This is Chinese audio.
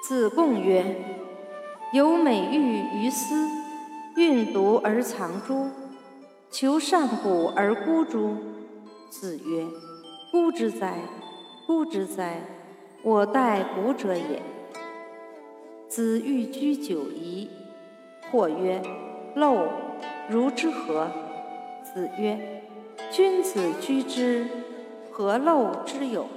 子贡曰：有美玉于斯，运毒而藏诸？求善乎而孤诸？子曰：孤之哉，孤之哉！我待孤者也。子欲居酒夷，或曰：陋，如之何？子曰：君子居之，何陋之有？